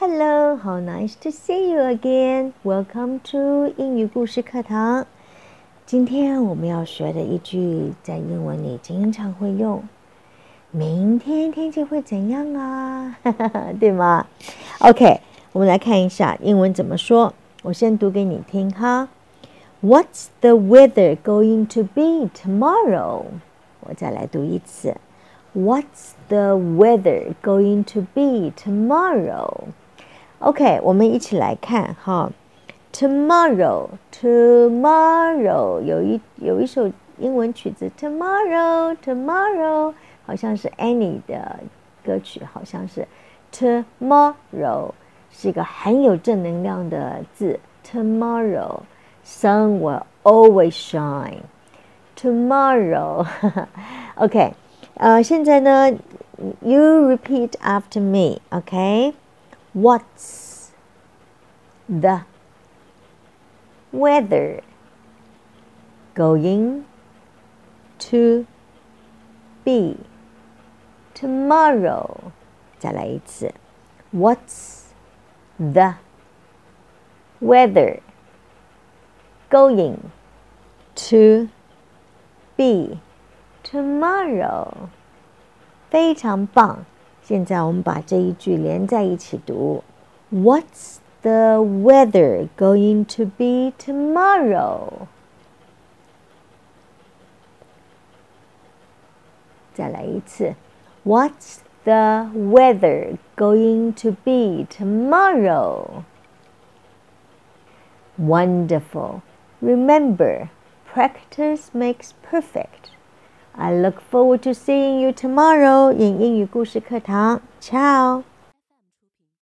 Hello, how nice to see you again. Welcome to 英语故事课堂。今天我们要学的一句在英文里经常会用，明天天气会怎样啊？对吗 ？OK， 我们来看一下英文怎么说。我先读给你听哈。What's the weather going to be tomorrow? 我再来读一次。What's the weather going to be tomorrow? OK， 我们一起来看哈。Tomorrow 有一首英文曲子 Tomorrow 好像是 Annie 的歌曲，好像是 Tomorrow 是一个很有正能量的字。Tomorrow sun will always shine. Tomorrow OK 现在呢 You repeat after me OK What's the weather going to be tomorrow? 再来一次。What's the weather going to be tomorrow? 非常棒。现在我们把这一句连在一起读。What's the weather going to be tomorrow? 再来一次。What's the weather going to be tomorrow? Wonderful. Remember, practice makes perfect.I look forward to seeing you tomorrow in 英语故事课堂。Ciao!